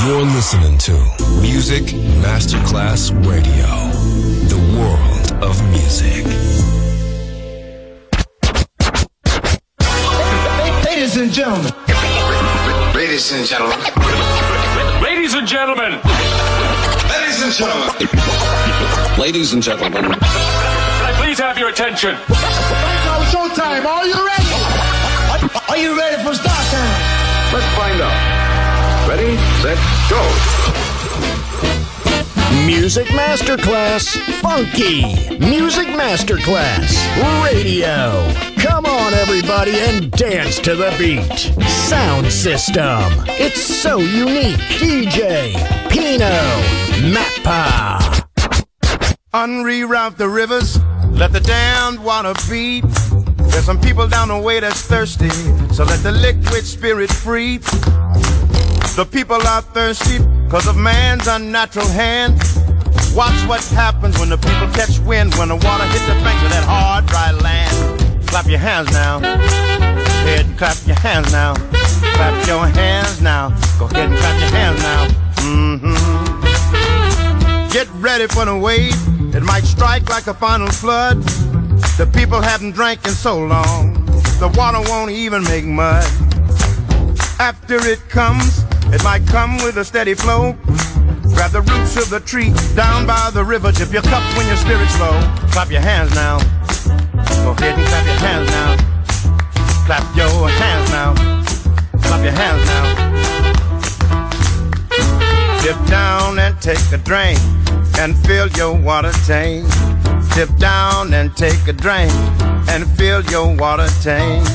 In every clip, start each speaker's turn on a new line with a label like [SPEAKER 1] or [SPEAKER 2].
[SPEAKER 1] You're listening to Music Masterclass Radio, the world of music.
[SPEAKER 2] Ladies and gentlemen.
[SPEAKER 3] Ladies and gentlemen.
[SPEAKER 4] Ladies and gentlemen.
[SPEAKER 3] Ladies and gentlemen.
[SPEAKER 1] Ladies and gentlemen.
[SPEAKER 4] Can I please have your attention?
[SPEAKER 2] Now showtime. Are you ready? Are you ready for start time?
[SPEAKER 3] Let's find out. Ready, set, go.
[SPEAKER 5] Music Masterclass Funky. Music Masterclass Radio. Come on, everybody, and dance to the beat. Sound system. It's so unique. DJ Pino Mappa.
[SPEAKER 6] Unreroute the rivers, let the damned water beat. There's some people down the way that's thirsty, so let the liquid spirit free. The people are thirsty because of man's unnatural hand. Watch what happens when the people catch wind, when the water hits the banks of that hard, dry land. Clap your hands now. Go ahead and clap your hands now. Clap your hands now. Go ahead and clap your hands now. Get ready for the wave. It might strike like a final flood. The people haven't drank in so long, the water won't even make mud. After it comes, it might come with a steady flow. Grab the roots of the tree down by the river. Dip your cup when your spirit's low. Clap your hands now. Go ahead and clap your hands now. Clap your hands now. Clap your hands now. Dip down and take a drink and fill your water tank. Dip down and take a drink and fill your water tank.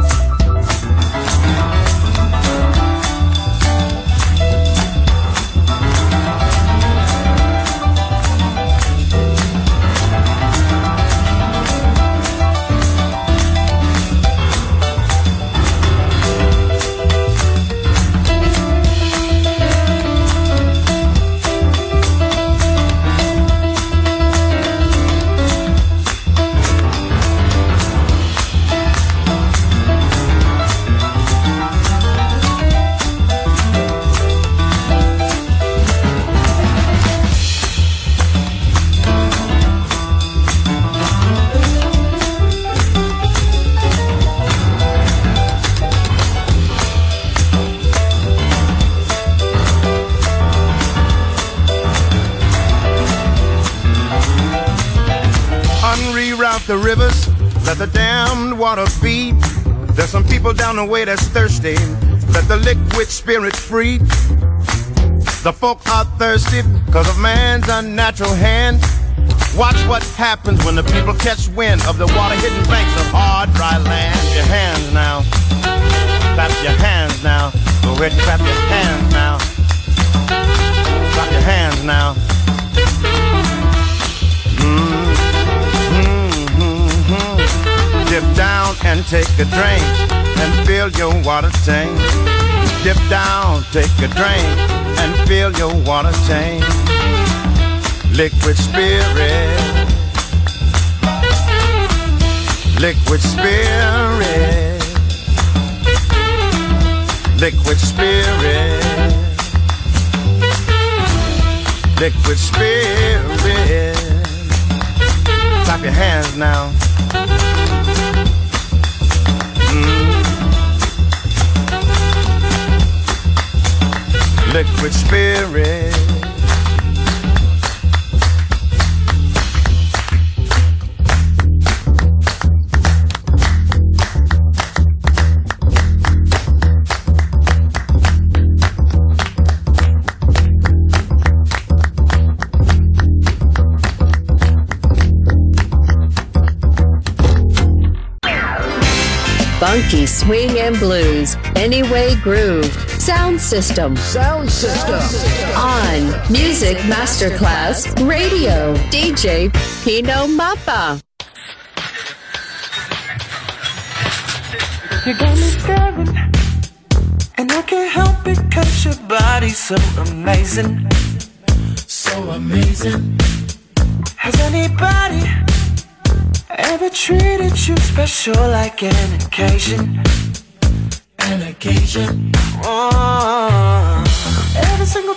[SPEAKER 6] The rivers, let the damned water beat. There's some people down the way that's thirsty. Let the liquid spirit free. The folk are thirsty because of man's unnatural hand. Watch what happens when the people catch wind of the water hitting banks of hard, dry land. Clap your hands now. Clap your hands now. Go ahead and clap your hands now. Clap your hands now. Dip down and take a drink and fill your water tank. Dip down, take a drink and fill your water tank. Liquid spirit. Liquid spirit. Liquid spirit. Liquid spirit. Clap your hands now. Liquid spirit.
[SPEAKER 7] Funky swing and blues, Anyway Groove, Sound System.
[SPEAKER 5] Sound system.
[SPEAKER 7] On Music Masterclass Radio, DJ Pino Mappa.
[SPEAKER 8] You got me staring, and I can't help it 'cause your body's so amazing. So amazing. Has anybody ever treated you special like an occasion? An occasion. Oh, every single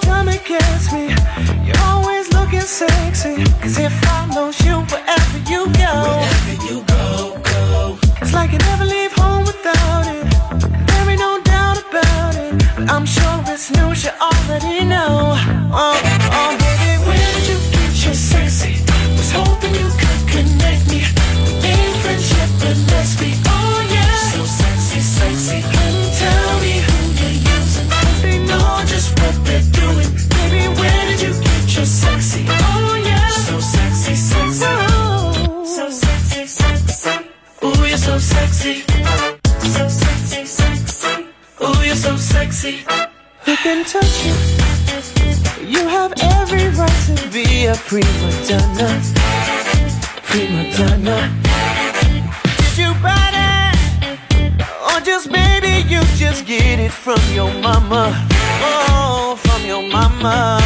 [SPEAKER 8] gets me. You're always looking sexy. Cause it follows you wherever you go. Wherever you go, go. It's like you never leave home without it. There ain't no doubt about it. But I'm sure it's news you already know. Oh, oh, baby, where did you get your sexy? Was hoping you could connect me. We ain't friends yet, but let's be, oh yeah. So sexy, sexy. Tell me who you're using. Cause they know just what they're doing. Baby, where did you get your sexy? Oh yeah. So sexy, sexy. Oh. So sexy, sexy. Ooh, you're so sexy. So sexy, sexy. Ooh, you're so sexy. Who can touch you? You have every right to be a prima donna. Prima donna. Did you buy that? Or just maybe you just get it from your mama? Oh, from your mama.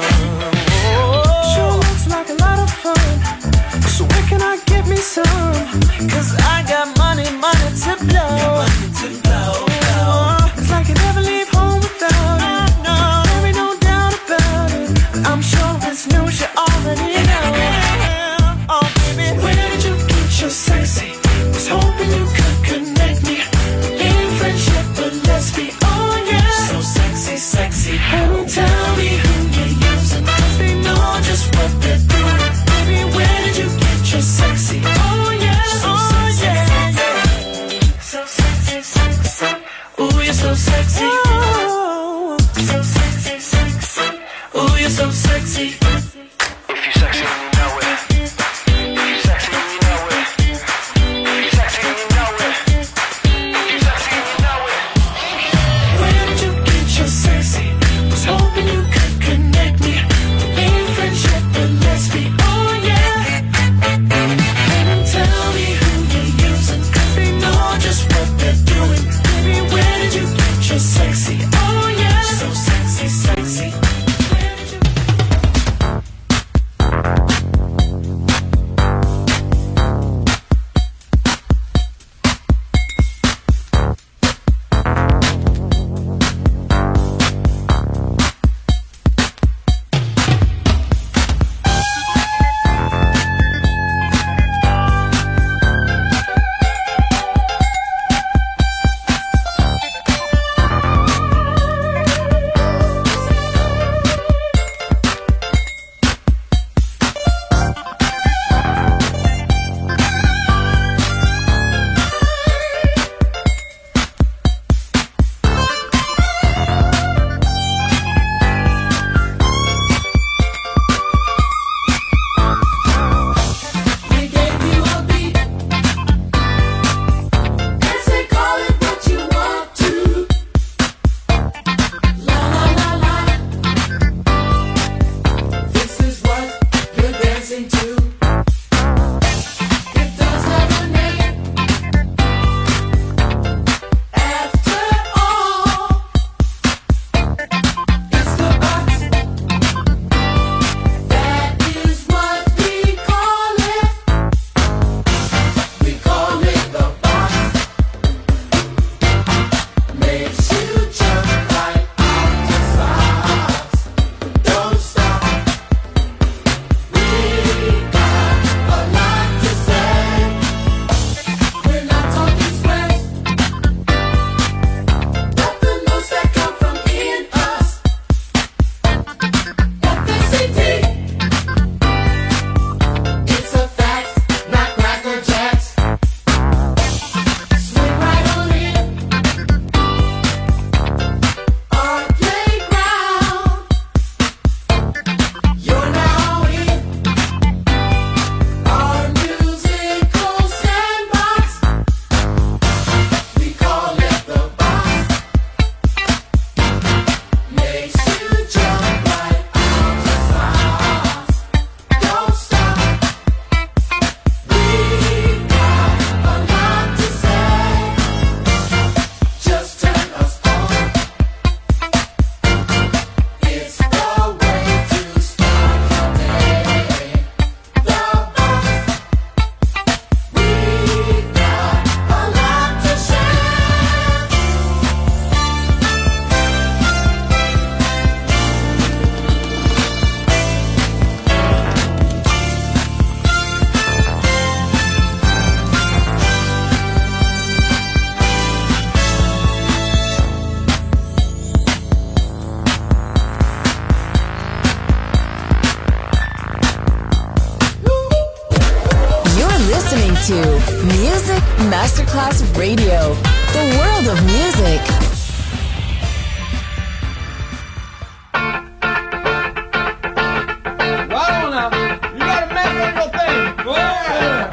[SPEAKER 8] Oh. Sure looks like a lot of fun. So where can I get me some? Cause I got money, money to blow. Money to blow. It's like you never leave home without it. No, there ain't no doubt about it. I'm sure it's news you already know. Oh baby, where did you get your sexy? Was hoping you could connect me. Ain't friends yet, but let's be, oh yeah. So sexy, sexy. Honey, tell me who you're using. Cause they know just what they're doing. Baby, where did you get your sexy? Oh yeah, so sexy, yeah. So sexy, sexy. Ooh, you're so sexy. Oh, so sexy, sexy. Ooh, you're so sexy. If you're sexy, then you know it. If you're sexy, then you know it. If you're sexy, then you know it. If you're sexy, then you know it. Where did you get your sexy? Was hoping you could connect me. Ain't friends yet, but let's be, oh yeah. And tell me who you're using. Cause they know just what they're doing. Baby, where did you get your sexy? Oh yeah. So sexy, sexy. Where did you...
[SPEAKER 9] Music Masterclass Radio. The world of music.
[SPEAKER 10] Wow, now, you gotta mess up your thing. Go ahead.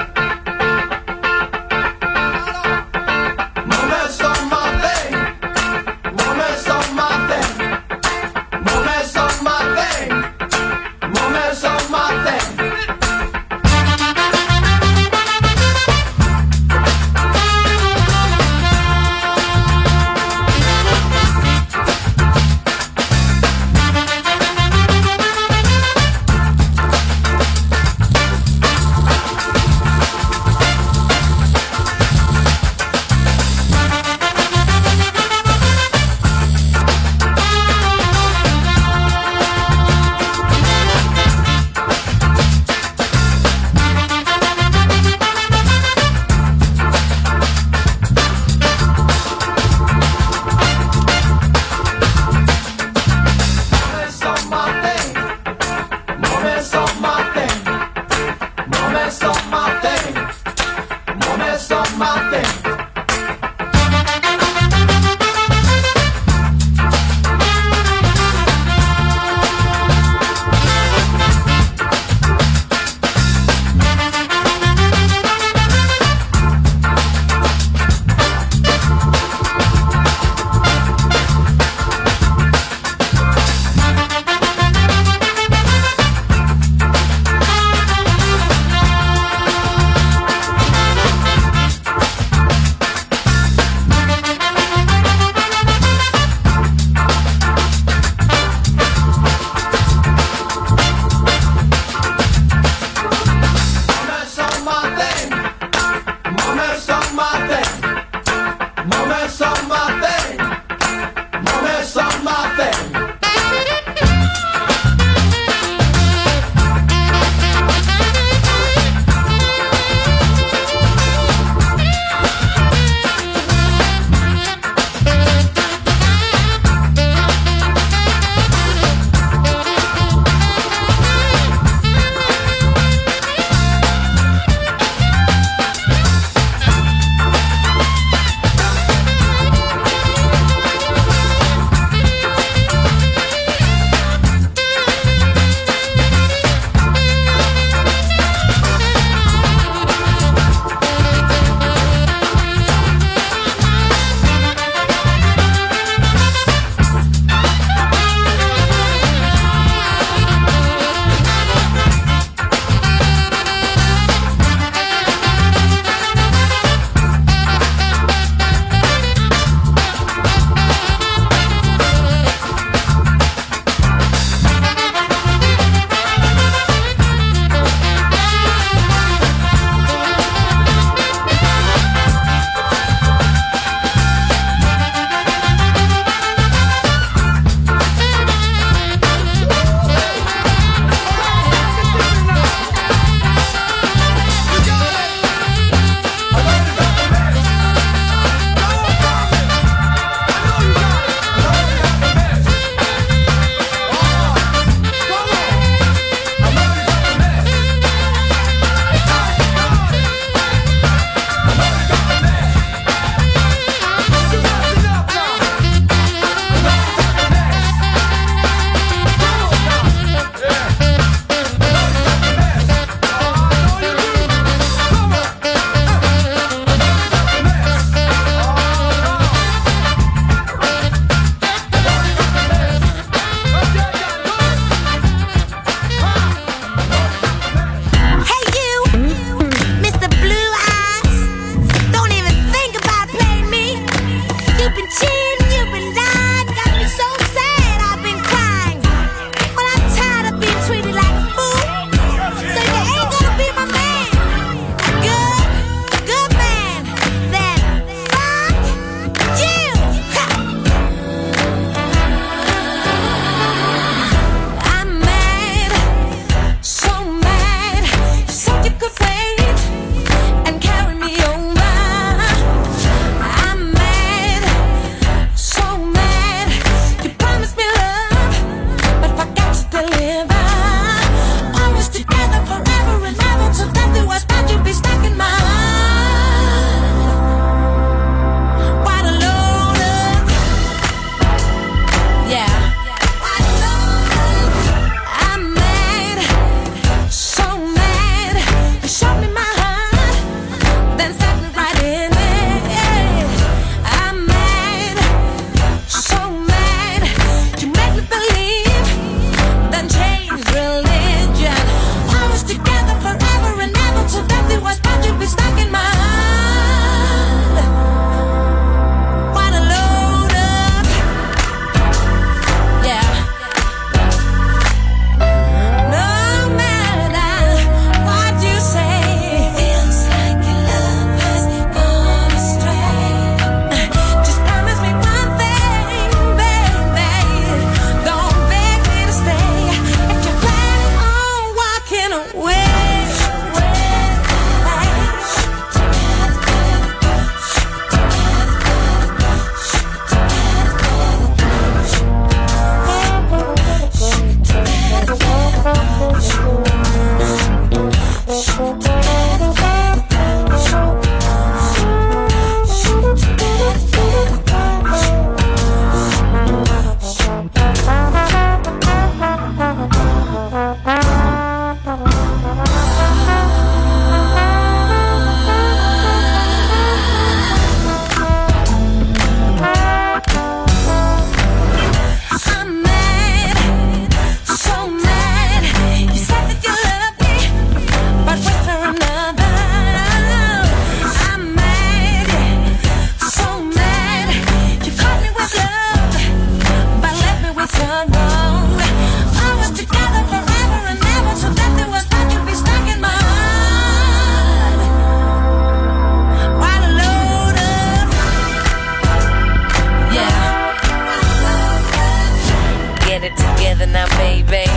[SPEAKER 11] together now, baby.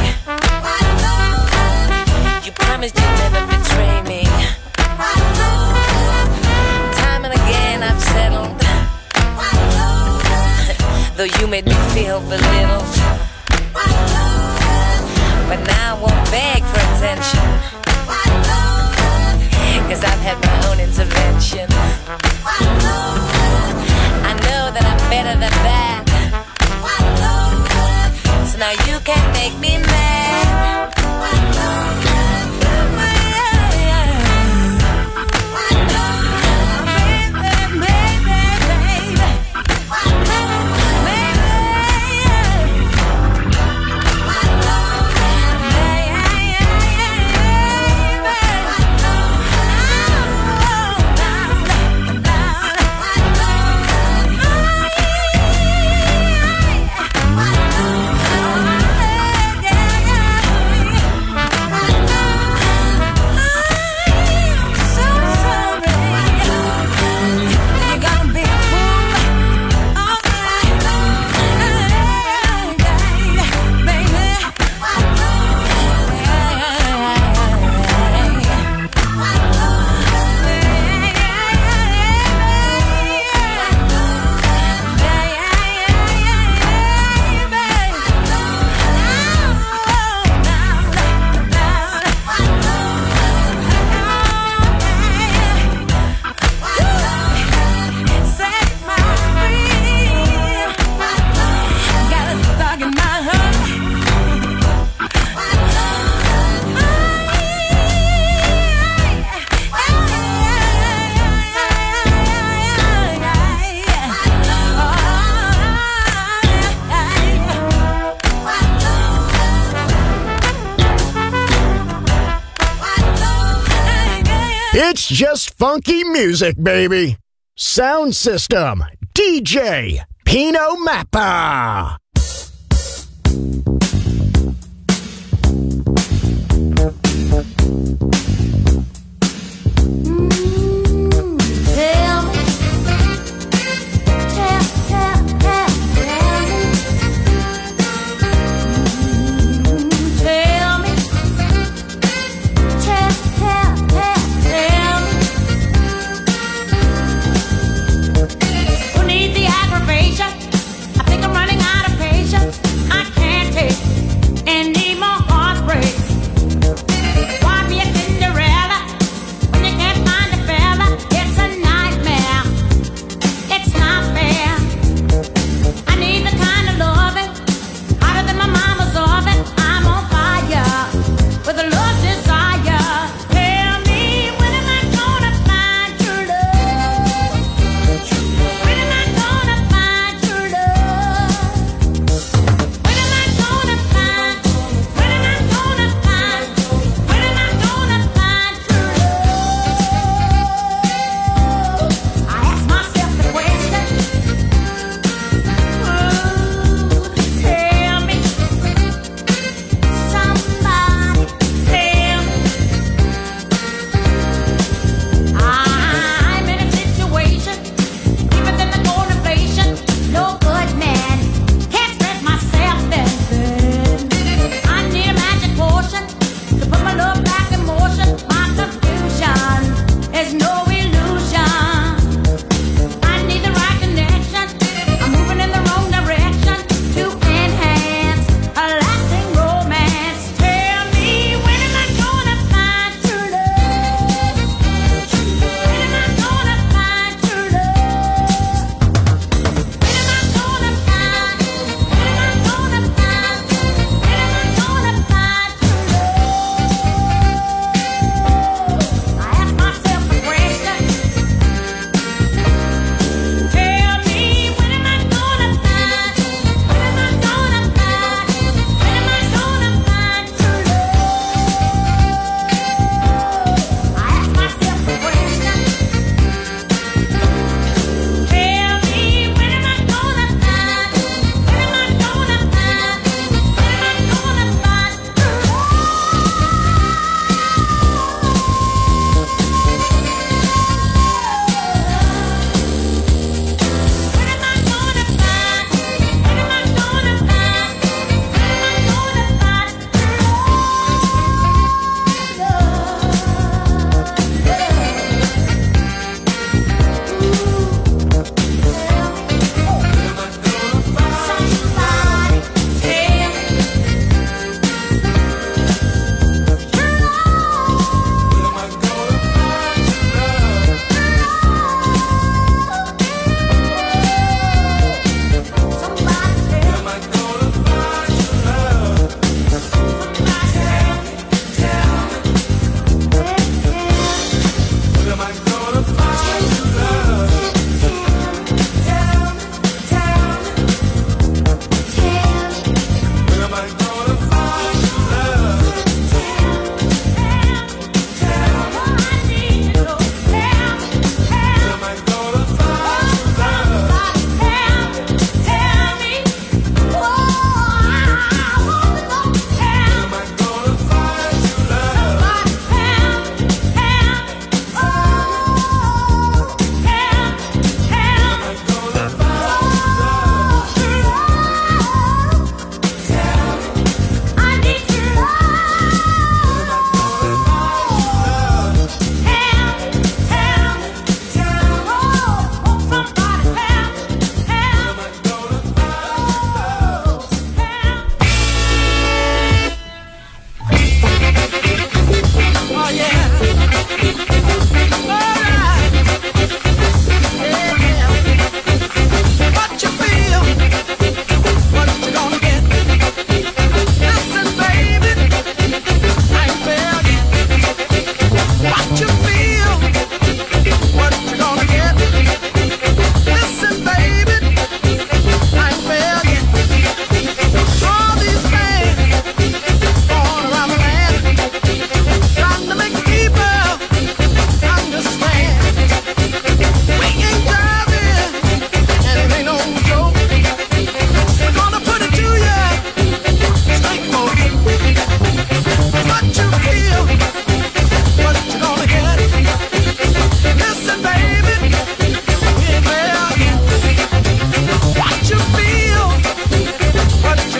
[SPEAKER 11] You promised you'd never betray me. Time and again I've settled, though you made me feel belittled. But now I won't beg for attention, 'cause I've had my own intervention. I know that I'm better than that, so now you can't make me mad.
[SPEAKER 5] It's just funky music, baby. Sound System, DJ Pino Mappa.
[SPEAKER 12] I think I'm running out of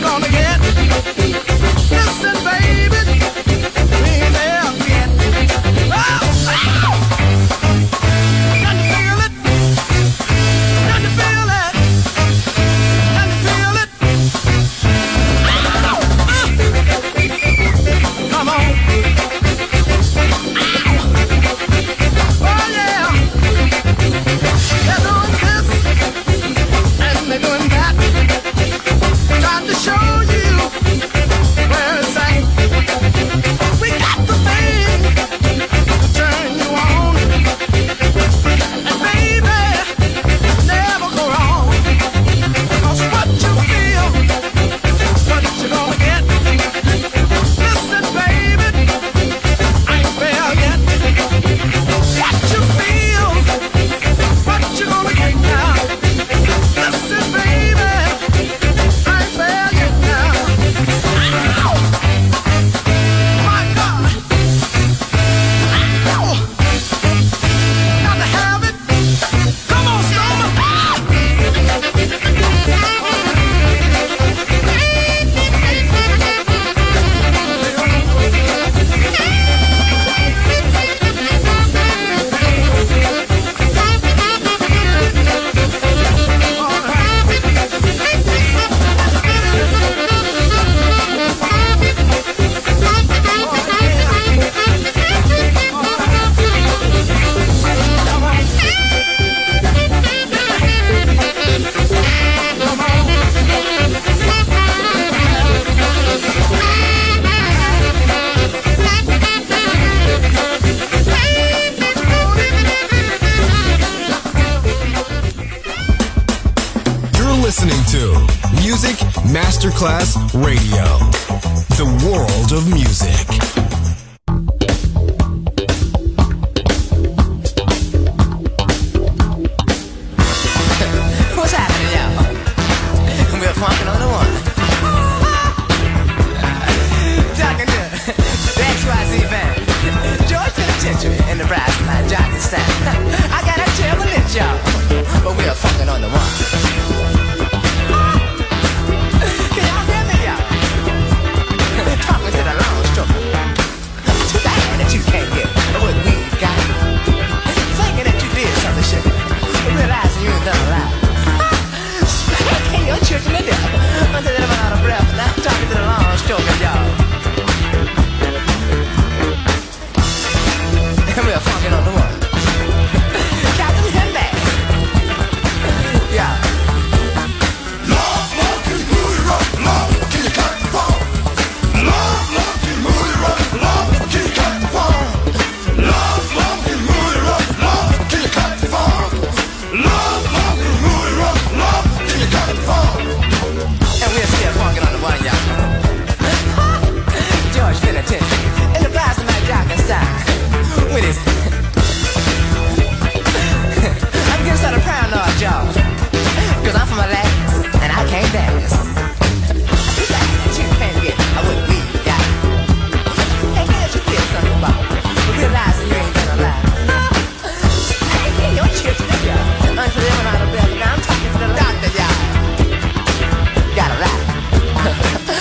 [SPEAKER 6] gonna get? Listen, baby, we ain't there yet. Oh, oh. Can you feel it? Can you feel it? Can you feel it? Come on. Oh yeah. They're doing this and they're doing that. Trying to show you where it's at. We got the thing to turn you on. And baby, never go wrong. 'Cause what you feel, what you gonna get. Listen, baby, I ain't there yet. What you feel, what you gonna get now. Listen, baby, I ain't there yet now. Ow! My God! Ow! Got to have it. Come on, Stormer!
[SPEAKER 1] You're listening to Music Masterclass Radio, the world of music.
[SPEAKER 12] What's happening, y'all? We're funkin' on the one. Talking to the XYZ band, George Penitentiary in the brass line, Johnny Stan. I got a terrible lit, y'all, but we're funkin' on the one. Can y'all hear me, y'all? Talking to the long stroke. Too bad that you can't get what we've got. Thinking that you did something shit, realizing you ain't done a lot. Spanking your children to death until they run out of breath. Now I'm talking to the long stroke, y'all. And we're funkin' on the one. Captain Henback. Yeah.
[SPEAKER 2] Love, love, can you move it right? Love, can you cut the phone? Love, love, can you move it right? Love, can you cut the phone? Love, love, can you move it right? Love, can you cut the phone? Love, love, can you move it right? Love, can you cut the phone?
[SPEAKER 12] And we're still funkin' on the one, y'all. George Penitentiary in the brass line, Johnny Stan. With his I'm getting started paranoid, y'all. 'Cause I'm from Alaska and I can't dance. Too bad that you can't get what we got. Hey, here's you feel something about, but realizing you ain't gonna lie. Hey, your children, y'all. Until they run out of breath. Now I'm talking to the doctor, y'all. Got a lie.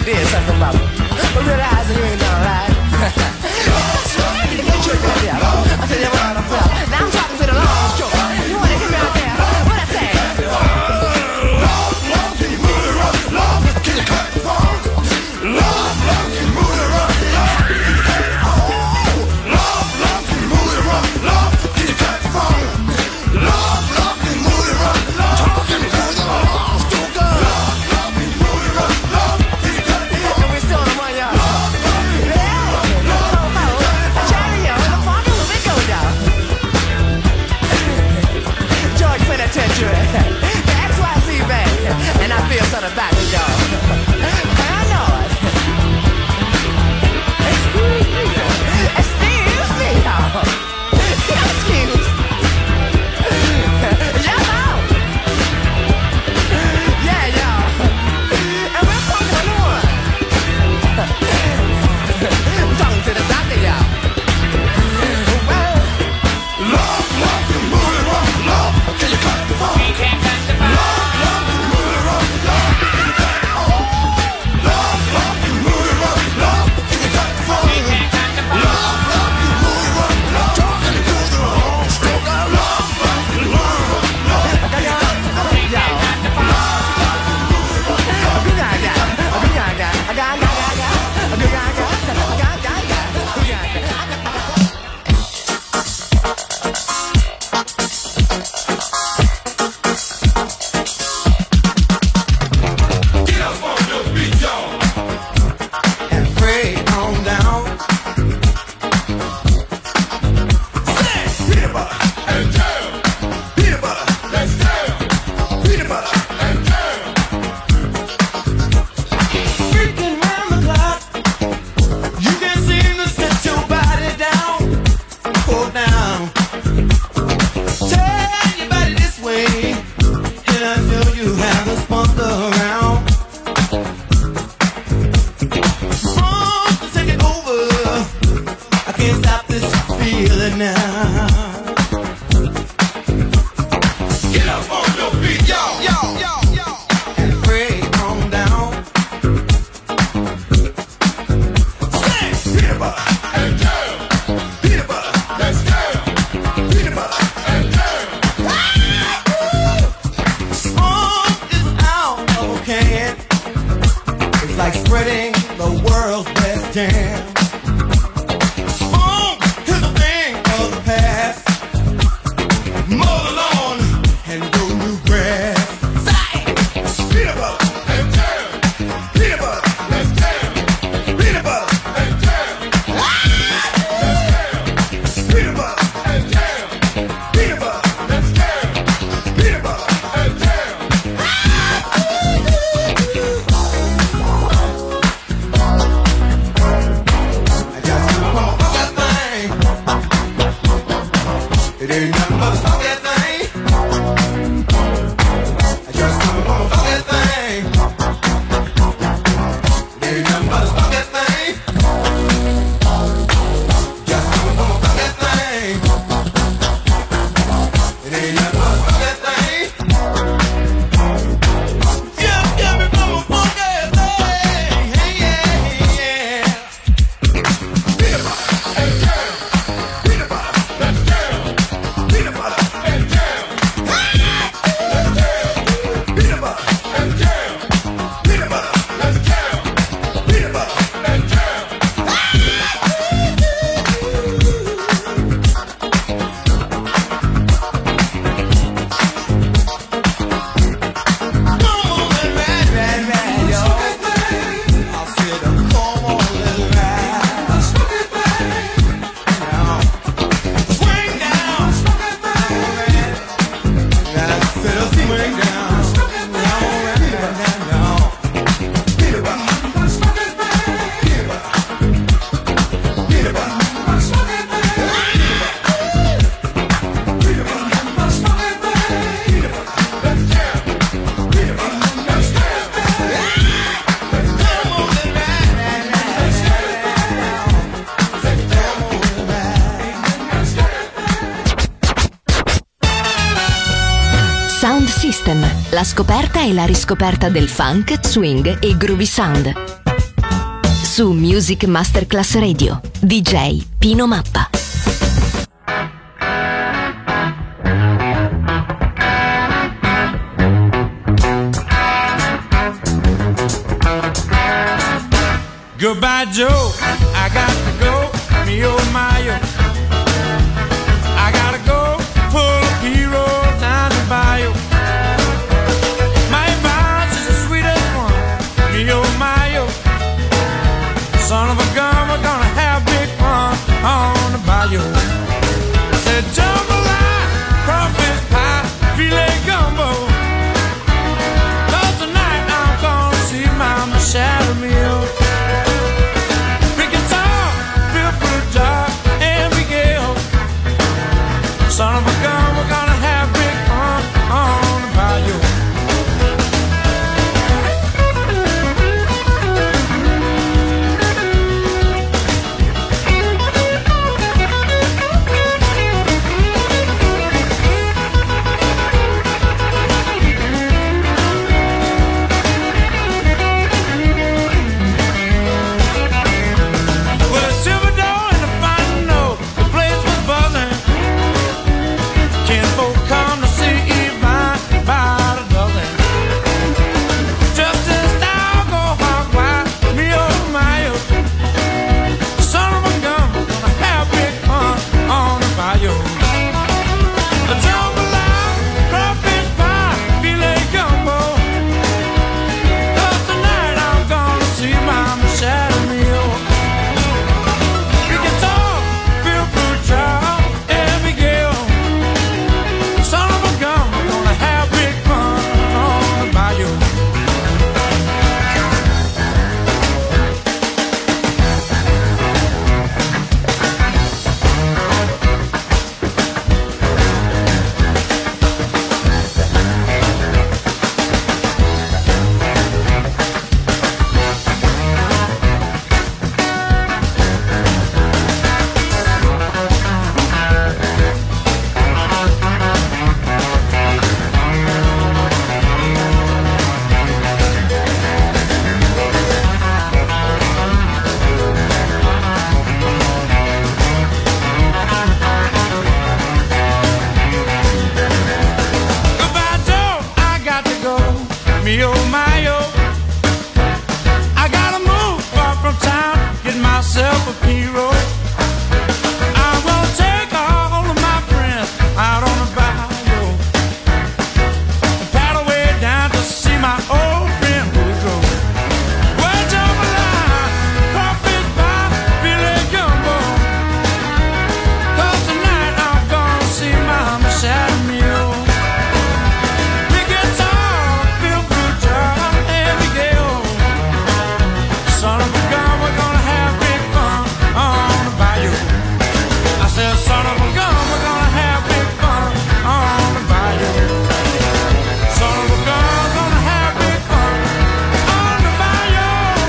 [SPEAKER 12] you did something about it. But realizing you ain't done right. That's right, you get tricked out there. I said, yeah, well, now I'm talking to the long stroker. You wanna get me out there? What I say?
[SPEAKER 2] Love, love, can you move it rock? Love, can you cut the funk? Love, love, can you move it rock? Love, can you cut the funk? Love, love, can you move it rock? Love, can you cut the funk? Love, love, can you move it rock? Love, talking to the long stroker. Love, love, can you move it rock? Love, can you cut the funk?
[SPEAKER 12] And we're still on one, y'all. George Penitentiary, the XYZ band, and I feel something about it, y'all. I know it. Excuse me, y'all. Excuse. Y'all. Yeah, y'all. And we're talking to one. I'm talking to the doctor, y'all.
[SPEAKER 2] Love, love, can you move it rock? Love, can you cut the funk? You can't cut the funk. Love, love, can you move it rock? Love, can you cut the funk? Love, love, can you move it rock? Love, can you cut the funk? You can't cut the funk. Love, love, can you move it rock? Love, talking to the long stroker. Love, love, can you move it rock? Love, can you cut the funk? You can't cut the funk. Love, love, can you move it rock? Get up on your feet, y'all.
[SPEAKER 12] And pray on down.
[SPEAKER 2] Peanut butter and jam. Peanut butter, let's jam. Peanut butter and jam.
[SPEAKER 12] Freaking round the clock, you can't seem to set your body down. Pull down. Turn your body this way, and I know you have the spunk around. Funk is taking over. I can't stop this feeling now.
[SPEAKER 2] Get up on your feet, y'all.
[SPEAKER 12] And pray on down.
[SPEAKER 2] Peanut butter and jam. Peanut butter, let's jam. Peanut butter and jam.
[SPEAKER 12] Funk is out of a can. It's like spreading the world's best jam. Funk is a thing of the past. Mow the lawn and grow new grass.
[SPEAKER 2] Peanut butter and jam. Peanut butter, let's jam. Peanut butter and jam. Let's jam. Peanut butter and jam. Peanut butter, let's jam. Peanut butter and jam.
[SPEAKER 12] I got to come on that thing. It ain't nothing but a funky thing. I just come on that thing. It ain't nothing but a funky thing. Just come on that thing. It ain't nothing but a funky thing. Just give me from a funky thing. Hey, yeah.
[SPEAKER 2] Peanut butter and jam. Peanut butter, let's jam. Peanut butter and jam. Let's jam. Peanut butter and jam. Peanut butter, let's jam. Peanut butter and jam.
[SPEAKER 13] Sound System, la scoperta e la riscoperta del funk, swing e groovy sound.
[SPEAKER 9] su Music Masterclass Radio. DJ Pino Mappa.
[SPEAKER 8] Goodbye, Joe. I got to go. Me oh my oh. I gotta go. Pull a P-roll down the bayou. My advice is the sweetest one. Me oh my oh. Son of a gun, we're gonna have big fun on the bayou. Said jambalaya, crawfish pie, filet gumbo. 'Cause tonight I'm gonna see Mama shadow meal. Son of a gun, we're gonna have big fun on the bayou. With a silver door and a fine note, the place was buzzing. Folk come to see Yvonne by the dozen. Just as thou go hog wild, me oh my oh. Son of a gun, we're gonna have big fun on the bayou. A jambalaya, crawfish pie, filet gumbo. 'Cause tonight I'm gonna see Mama shadow meal. We can talk, feel fruit jar, and we go. Son of a gun, we're gonna have big fun on the bayou. Goodbye, Joe, I got to go. Me oh my oh. I gotta move far from town, get myself a P-roll. I'm gonna take all of my friends out on the bayou and paddle way down to see my old friend Woodrow. Well, jambalaya, crawfish pie, filet gumbo. 'Cause tonight I'm gonna see Mama shadow meal. We can talk, feel fruit jar, and we go. Son of a gun, we're gonna have big fun on the bayou. I said, son of a gun, we're gonna have big fun on the bayou. Son of a gun, gonna have big fun on the bayou.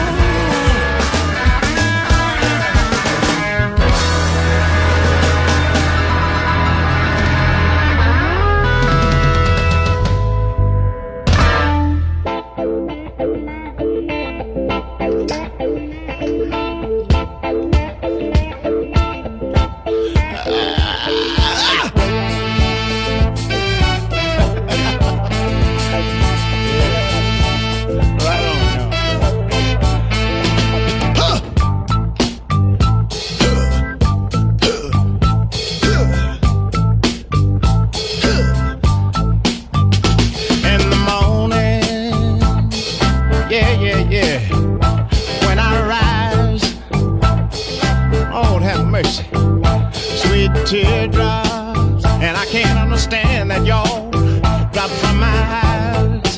[SPEAKER 8] In the morning, yeah. When I rise, Lord have mercy, sweet teardrops, and I can't understand that y'all drop from my eyes.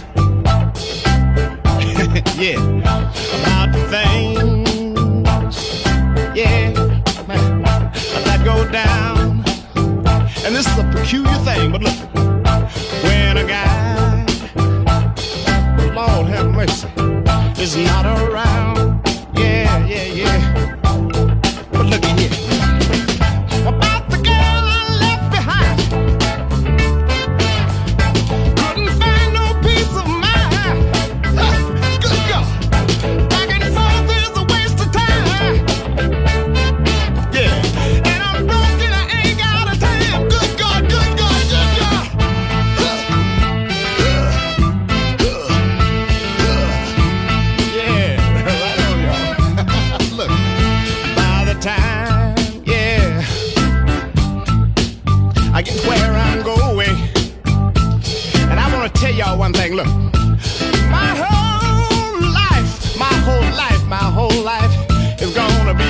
[SPEAKER 8] Yeah, about the things, yeah, that go down. And this is a peculiar thing, but look, when a guy, Lord have mercy, is not around, yeah. But look at here, about the girl I left behind, couldn't find no peace of mind. Good God, back and forth is a waste of time.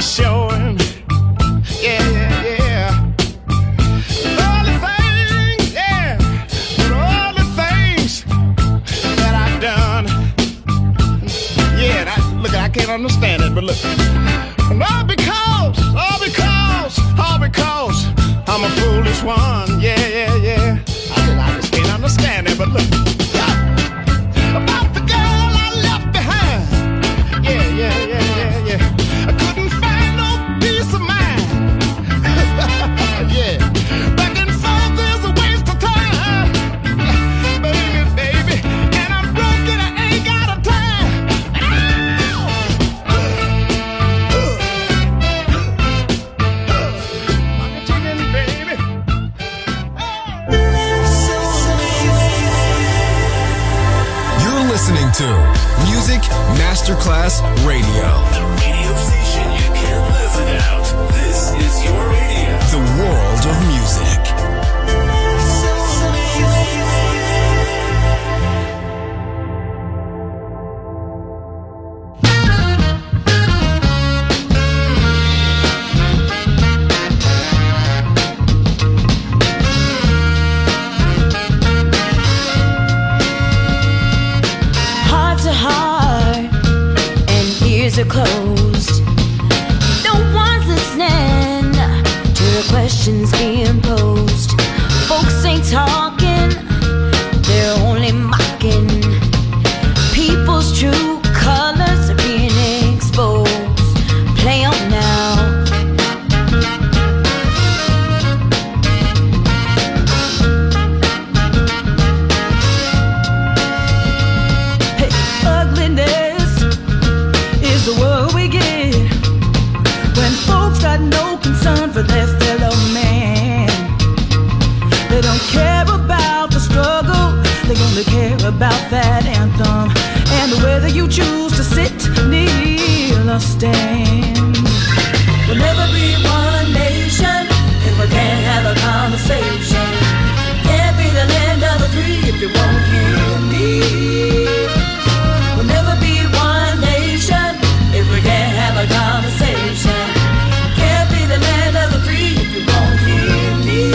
[SPEAKER 6] showing. Yeah, yeah, yeah. All the things, yeah, all the things that I've done. Yeah, look, I can't understand it, but look. All because I'm a foolish one. Yeah, yeah, yeah. I just can't understand it, but look. About the girl I left behind. Yeah, yeah, yeah, yeah, yeah. I couldn't find no peace of mind. Yeah. Back and forth is a waste of time. Baby, baby. And I'm broken, I ain't got a time.
[SPEAKER 1] Listening to Music Masterclass Radio.
[SPEAKER 13] The radio station you can't live without. This is your radio.
[SPEAKER 1] The world of music.
[SPEAKER 14] Are closed. No one's listening to the questions being posed. Folks ain't talking, they're only mocking. People's true colors are being exposed. Play on now. Hey, ugliness is the word we get when folks got no concern for their fellow man. They don't care about the struggle, they only care about that anthem and whether you choose to sit, kneel, or stand. We'll never be one nation if we can't have a conversation. Can't be the land of the free if you won't hear me. We'll never be one nation if we can't have a conversation. Can't be the land of the free if you won't hear me.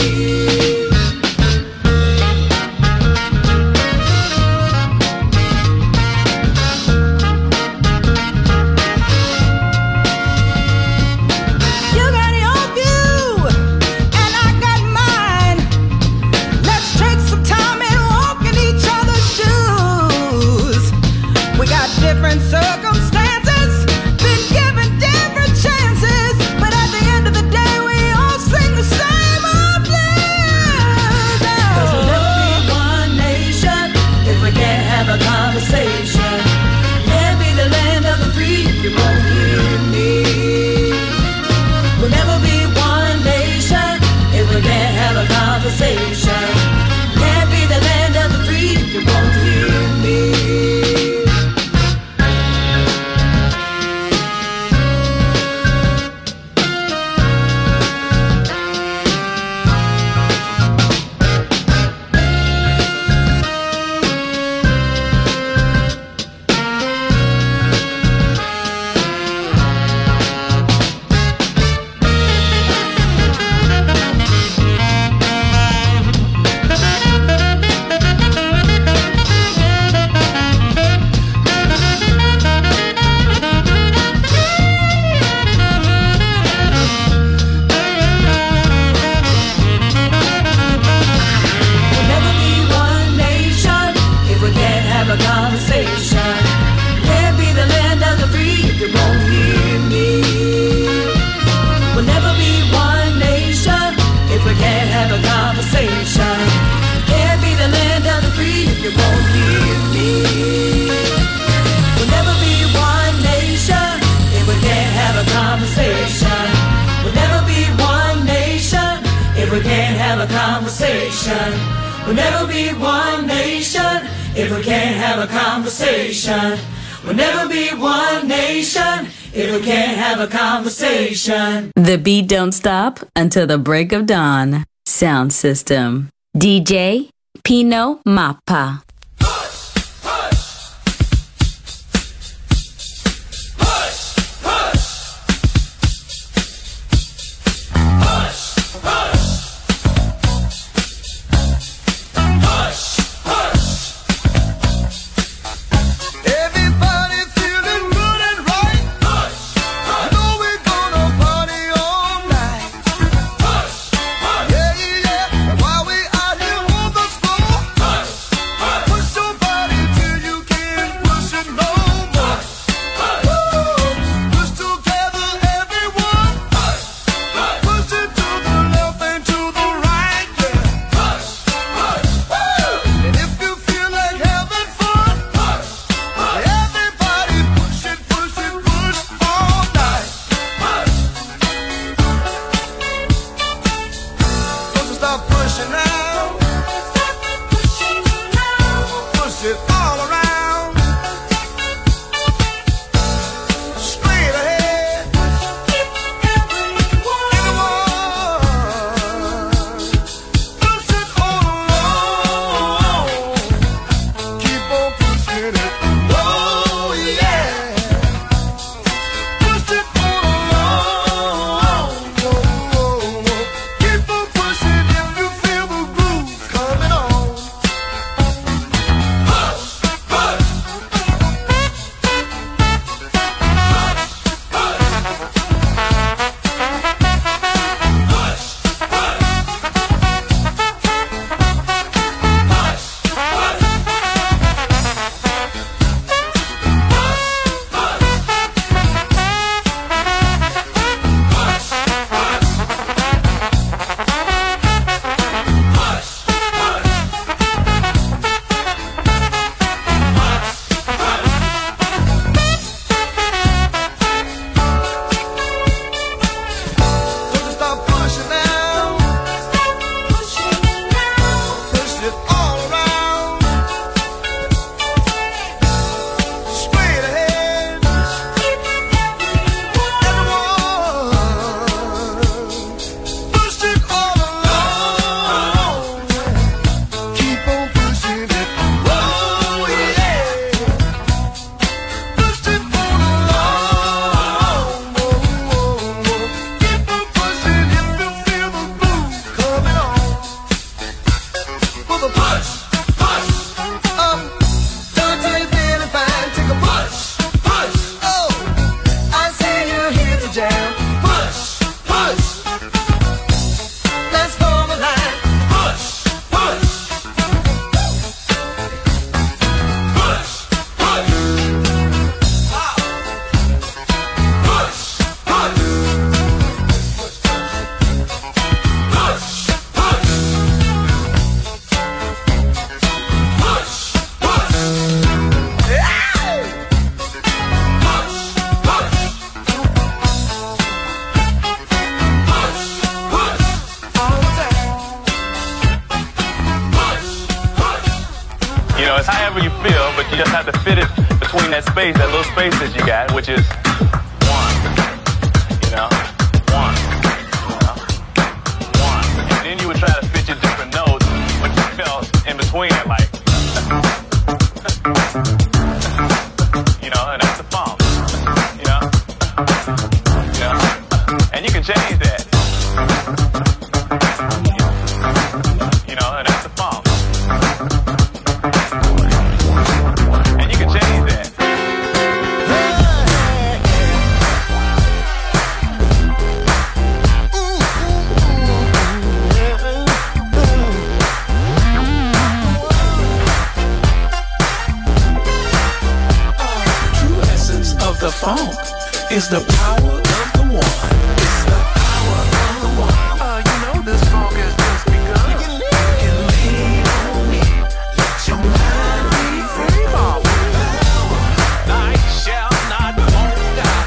[SPEAKER 14] You got your view and I got mine. Let's take some time and walk in each other's shoes. We got different circumstances, been given different chances, but at the end of the day we all sing the same old blues. 'Cause we'll never be one nation if we can't have a conversation. Can't be the land of the free if you won't hear me. We'll never be one nation if we can't have a conversation. Can't be the land of the free if you won't hear me. We'll never be one nation if we can't have a conversation. We'll never be one nation if we can't have a conversation.
[SPEAKER 15] The beat don't stop until the break of dawn. Sound system. DJ Pino Mappa.
[SPEAKER 12] jam. Push, push. Let's form a line. Push, push. Push, push. Wow. Push, push.
[SPEAKER 16] It's however you feel, but you just have to fit it between that space, that little space that you got, which is one, you know, one, you know, one. And then you would try to fit your different notes, but you felt in between it, like, you know, and that's the funk, you know, and you can change that, you know, and that's the funk.
[SPEAKER 8] The funk is the power of the one. It's the power of the one. You know this funk has just begun. You can lean on me. Let your mind be free. Night shall not won't die.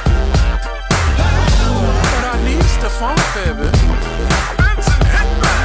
[SPEAKER 8] But I need the funk, baby. Benson, hit back.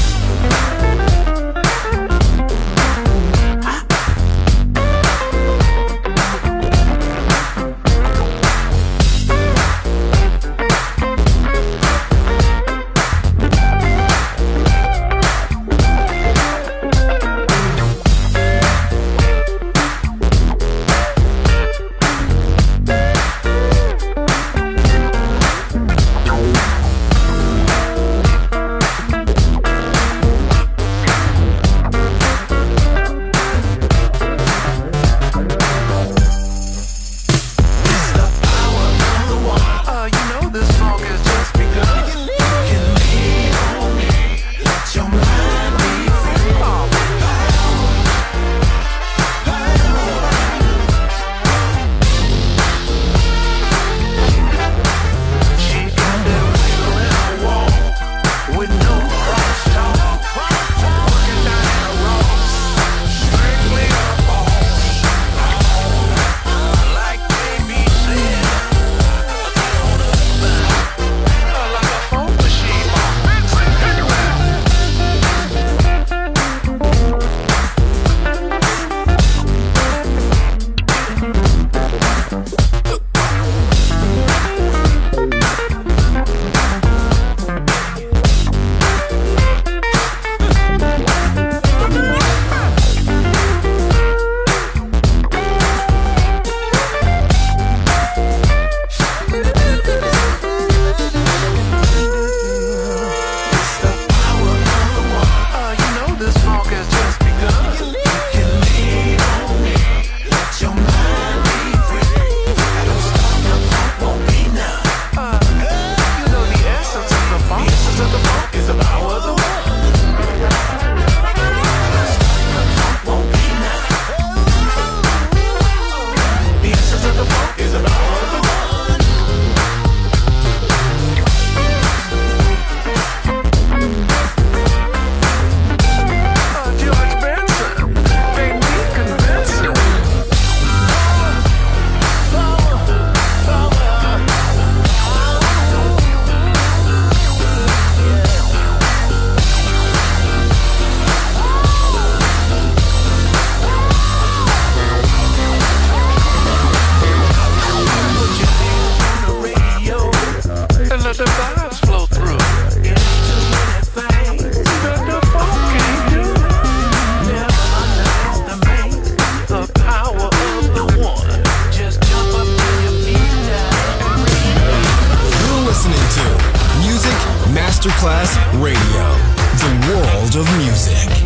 [SPEAKER 1] Masterclass Radio, the world of music.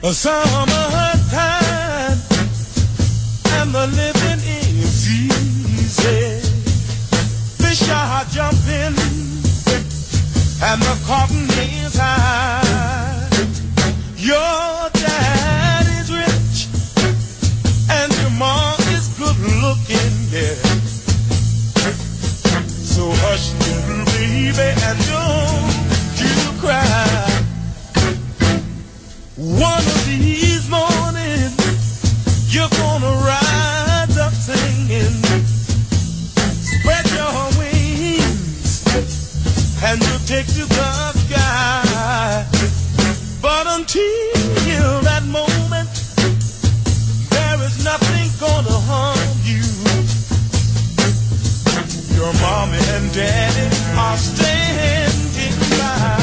[SPEAKER 8] Summertime and the living is easy. Fish are jumping and the cotton is high. Your dad is rich and your mom is good looking, yeah. So hush, little baby, and don't you cry. One of these mornings, you're gonna rise up singing. Spread your wings, and you'll take to the sky. But until that moment, there is nothing gonna harm you. Your mommy and daddy are standing by.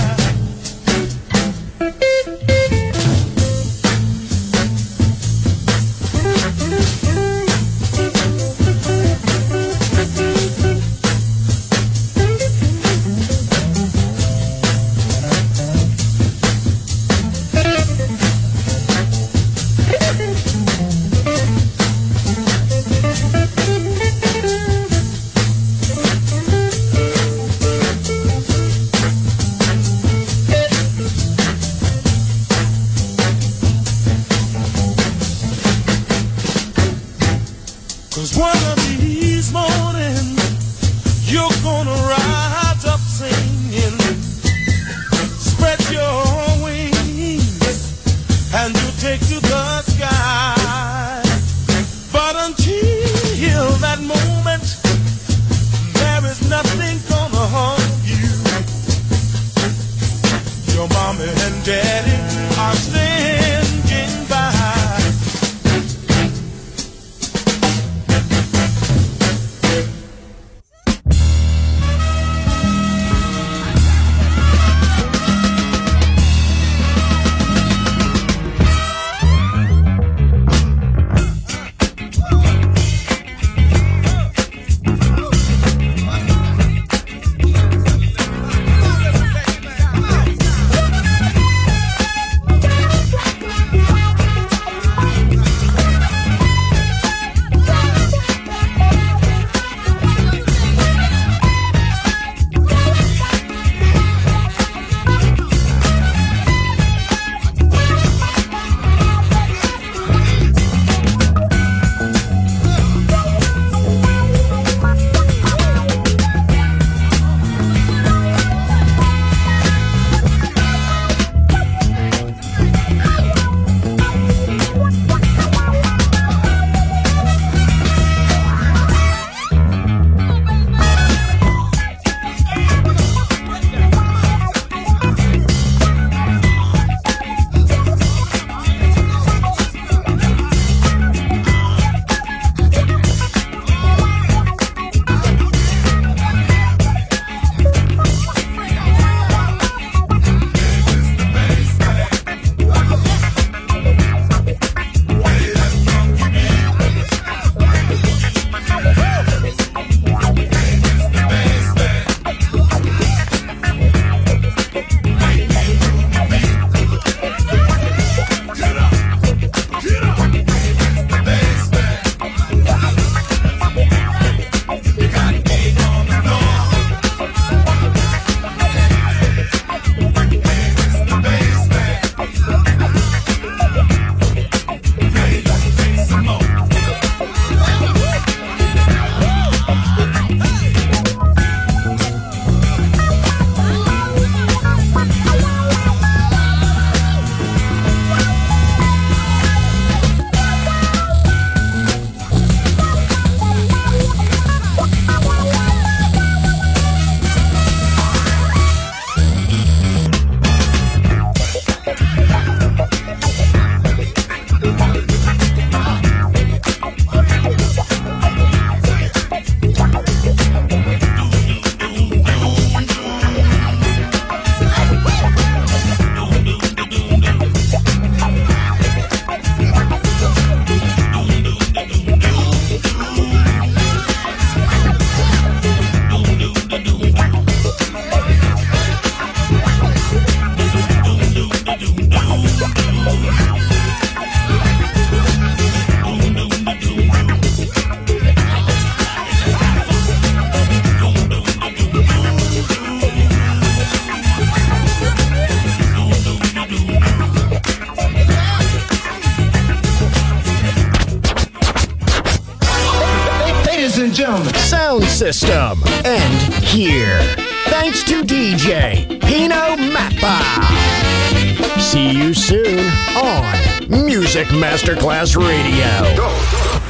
[SPEAKER 5] System end here. Thanks to DJ Pino Mappa. See you soon on Music Masterclass Radio.
[SPEAKER 2] Go.